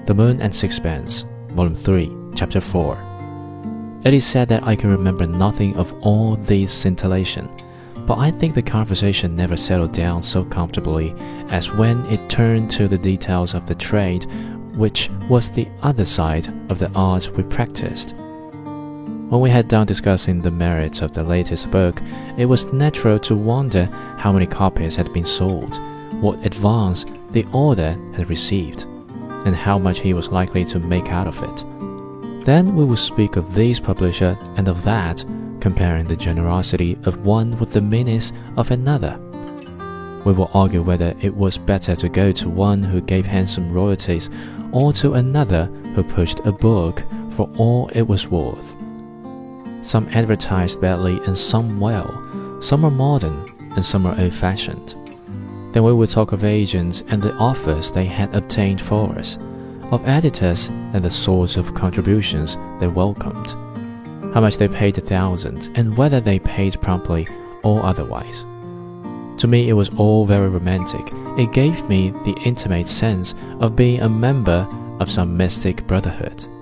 The Moon and Sixpence, Volume 3, Chapter 4. It is said that I can remember nothing of all these scintillation, but I think the conversation never settled down so comfortably as when it turned to the details of the trade, which was the other side of the art we practiced. When we had done discussing the merits of the latest book, it was natural to wonder how many copies had been sold, what advance the author had received, and how much he was likely to make out of it. Then we would speak of this publisher and of that, comparing the generosity of one with the meanness of another. We will argue whether it was better to go to one who gave handsome royalties or to another who pushed a book for all it was worth. Some advertised badly and some well, some are modern and some are old-fashioned. Then we will talk of agents and the offers they had obtained for us, of editors and the sorts of contributions they welcomed, how much they paid 1,000, and whether they paid promptly or otherwise. To me it was all very romantic. It gave me the intimate sense of being a member of some mystic brotherhood.